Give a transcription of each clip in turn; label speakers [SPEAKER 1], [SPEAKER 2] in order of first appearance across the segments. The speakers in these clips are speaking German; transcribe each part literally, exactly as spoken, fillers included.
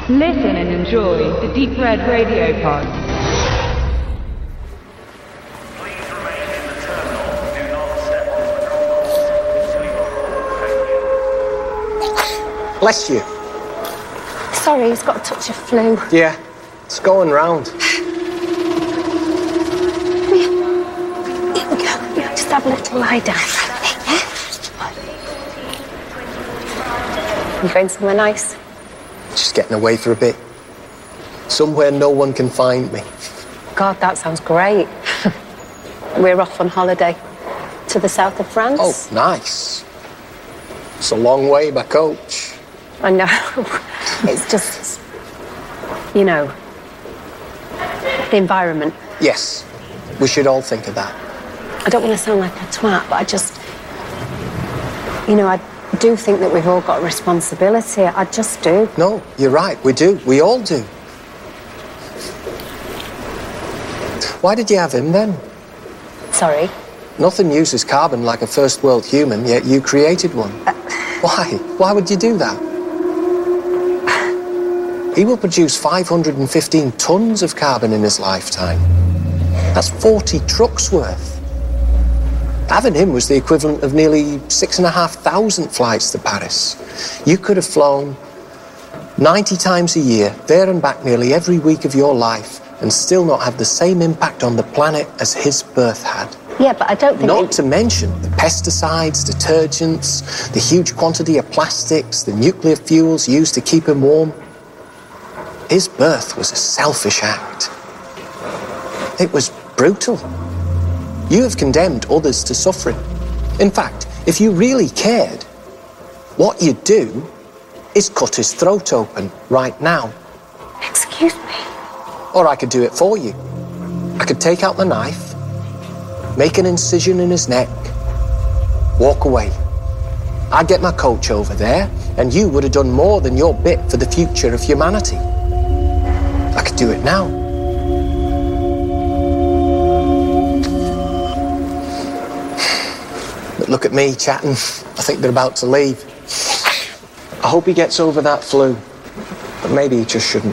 [SPEAKER 1] Listen and enjoy the Deep Red Radio Pod.
[SPEAKER 2] Please remain in the terminal. Do not step on the drop-off.
[SPEAKER 3] Bless you.
[SPEAKER 4] Sorry, he's got a touch of flu.
[SPEAKER 3] Yeah, it's going round.
[SPEAKER 4] Here we go. Yeah, just have a little lie down. Yeah? You going somewhere nice?
[SPEAKER 3] Just getting away for a bit. Somewhere no one can find me.
[SPEAKER 4] God, that sounds great. We're off on holiday to the south of France.
[SPEAKER 3] Oh, nice. It's a long way by coach.
[SPEAKER 4] I know. It's just, you know, the environment.
[SPEAKER 3] Yes, we should all think of that.
[SPEAKER 4] I don't want to sound like a twat, but I just, you know, I do think that we've all got a responsibility. I just do.
[SPEAKER 3] No, you're right, we do. We all do. Why did you have him then?
[SPEAKER 4] Sorry?
[SPEAKER 3] Nothing uses carbon like a first world human, yet you created one. Uh, Why? Why would you do that? He will produce five hundred fifteen tons of carbon in his lifetime. That's forty trucks worth. Having him was the equivalent of nearly six and a half thousand flights to Paris. You could have flown ninety times a year, there and back nearly every week of your life, and still not have the same impact on the planet as his birth had.
[SPEAKER 4] Yeah, but I don't think...
[SPEAKER 3] Not
[SPEAKER 4] it...
[SPEAKER 3] to mention the pesticides, detergents, the huge quantity of plastics, the nuclear fuels used to keep him warm. His birth was a selfish act. It was brutal. You have condemned others to suffering. In fact, if you really cared, what you'd do is cut his throat open right now.
[SPEAKER 4] Excuse me?
[SPEAKER 3] Or I could do it for you. I could take out the knife, make an incision in his neck, walk away. I'd get my coach over there, and you would have done more than your bit for the future of humanity. I could do it now. But look at me chatting. I think they're about to leave. I hope he gets over that flu, but maybe he just shouldn't.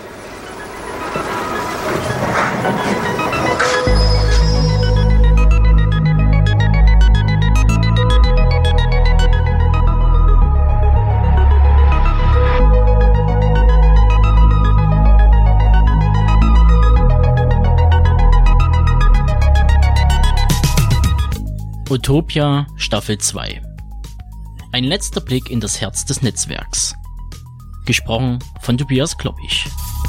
[SPEAKER 5] Utopia Staffel zwei. Ein letzter Blick in das Herz des Netzwerks. Gesprochen von Tobias Kloppich.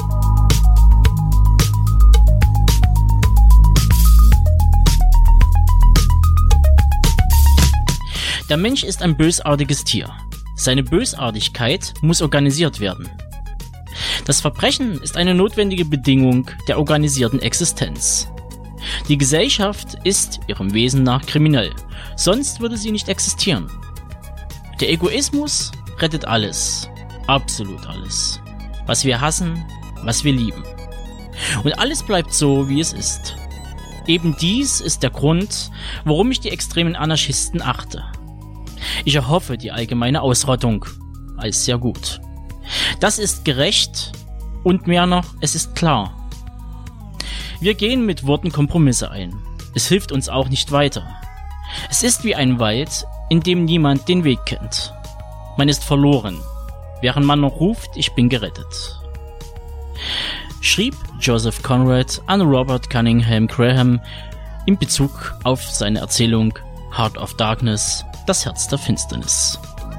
[SPEAKER 5] Der Mensch ist ein bösartiges Tier. Seine Bösartigkeit muss organisiert werden. Das Verbrechen ist eine notwendige Bedingung der organisierten Existenz. Die Gesellschaft ist ihrem Wesen nach kriminell, sonst würde sie nicht existieren. Der Egoismus rettet alles, absolut alles, was wir hassen, was wir lieben. Und alles bleibt so, wie es ist. Eben dies ist der Grund, warum ich die extremen Anarchisten achte. Ich erhoffe die allgemeine Ausrottung als sehr gut. Das ist gerecht und mehr noch, es ist klar. Wir gehen mit Worten Kompromisse ein. Es hilft uns auch nicht weiter. Es ist wie ein Wald, in dem niemand den Weg kennt. Man ist verloren, während man noch ruft, ich bin gerettet. Schrieb Joseph Conrad an Robert Cunningham Graham in Bezug auf seine Erzählung Heart of Darkness, das Herz der Finsternis.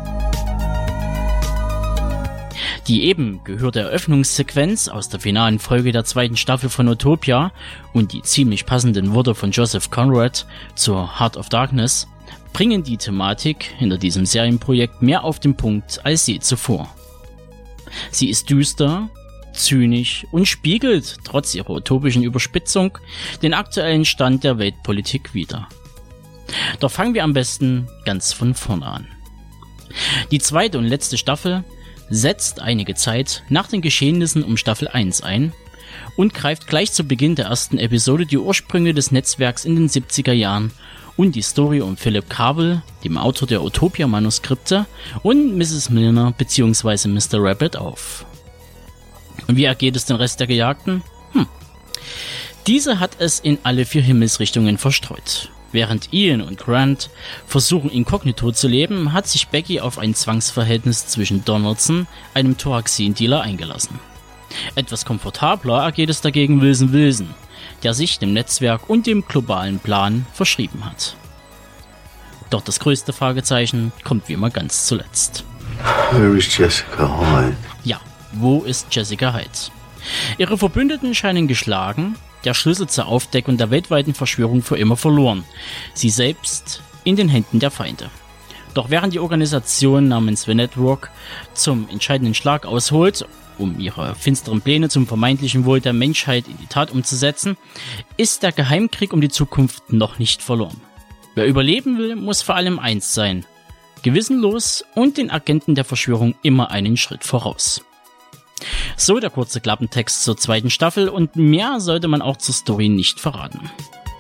[SPEAKER 5] Die eben gehörte Eröffnungssequenz aus der finalen Folge der zweiten Staffel von Utopia und die ziemlich passenden Worte von Joseph Conrad zur Heart of Darkness bringen die Thematik hinter diesem Serienprojekt mehr auf den Punkt als je zuvor. Sie ist düster, zynisch und spiegelt, trotz ihrer utopischen Überspitzung, den aktuellen Stand der Weltpolitik wider. Doch fangen wir am besten ganz von vorne an. Die zweite und letzte Staffel setzt einige Zeit nach den Geschehnissen um Staffel eins ein und greift gleich zu Beginn der ersten Episode die Ursprünge des Netzwerks in den siebziger Jahren und die Story um Philip Cable, dem Autor der Utopia-Manuskripte, und Misses Milner bzw. Mister Rabbit auf. Und wie ergeht es den Rest der Gejagten? Hm. Diese hat es in alle vier Himmelsrichtungen verstreut. Während Ian und Grant versuchen, inkognito zu leben, hat sich Becky auf ein Zwangsverhältnis zwischen Donaldson, einem Thoraxin-Dealer, eingelassen. Etwas komfortabler ergeht es dagegen Wilson Wilson, der sich dem Netzwerk und dem globalen Plan verschrieben hat. Doch das größte Fragezeichen kommt wie immer ganz zuletzt.
[SPEAKER 6] Where is Jessica Hyde?
[SPEAKER 5] Ja, wo ist Jessica Hyde? Ihre Verbündeten scheinen geschlagen, der Schlüssel zur Aufdeckung der weltweiten Verschwörung für immer verloren, sie selbst in den Händen der Feinde. Doch während die Organisation namens The Network zum entscheidenden Schlag ausholt, um ihre finsteren Pläne zum vermeintlichen Wohl der Menschheit in die Tat umzusetzen, ist der Geheimkrieg um die Zukunft noch nicht verloren. Wer überleben will, muss vor allem eins sein: gewissenlos und den Agenten der Verschwörung immer einen Schritt voraus. So der kurze Klappentext zur zweiten Staffel, und mehr sollte man auch zur Story nicht verraten.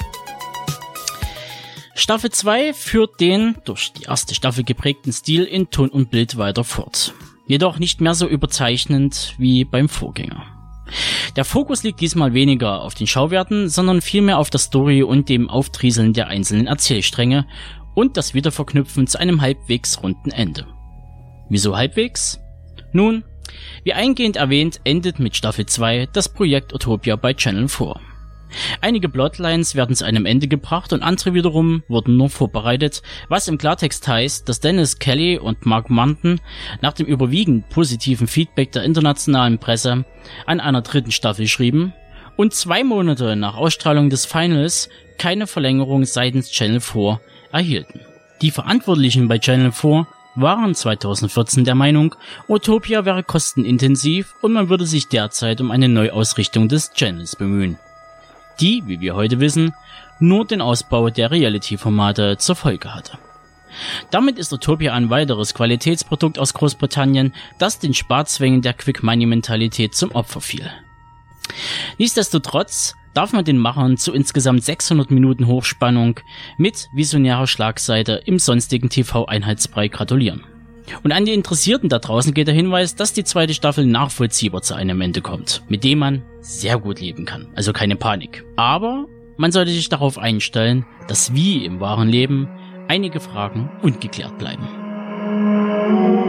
[SPEAKER 5] Staffel zwei führt den durch die erste Staffel geprägten Stil in Ton und Bild weiter fort. Jedoch nicht mehr so überzeichnend wie beim Vorgänger. Der Fokus liegt diesmal weniger auf den Schauwerten, sondern vielmehr auf der Story und dem Auftrieseln der einzelnen Erzählstränge und das Wiederverknüpfen zu einem halbwegs runden Ende. Wieso halbwegs? Nun, wie eingehend erwähnt, endet mit Staffel zwei das Projekt Utopia bei Channel vier. Einige Plotlines werden zu einem Ende gebracht und andere wiederum wurden nur vorbereitet, was im Klartext heißt, dass Dennis Kelly und Mark Munton nach dem überwiegend positiven Feedback der internationalen Presse an einer dritten Staffel schrieben und zwei Monate nach Ausstrahlung des Finals keine Verlängerung seitens Channel vier erhielten. Die Verantwortlichen bei Channel vier waren zweitausendvierzehn der Meinung, Utopia wäre kostenintensiv und man würde sich derzeit um eine Neuausrichtung des Channels bemühen, die, wie wir heute wissen, nur den Ausbau der Reality-Formate zur Folge hatte. Damit ist Utopia ein weiteres Qualitätsprodukt aus Großbritannien, das den Sparzwängen der Quick-Money-Mentalität zum Opfer fiel. Nichtsdestotrotz darf man den Machern zu insgesamt sechshundert Minuten Hochspannung mit visionärer Schlagseite im sonstigen T V-Einheitsbrei gratulieren. Und an die Interessierten da draußen geht der Hinweis, dass die zweite Staffel nachvollziehbar zu einem Ende kommt, mit dem man sehr gut leben kann, also keine Panik. Aber man sollte sich darauf einstellen, dass wie im wahren Leben einige Fragen ungeklärt bleiben.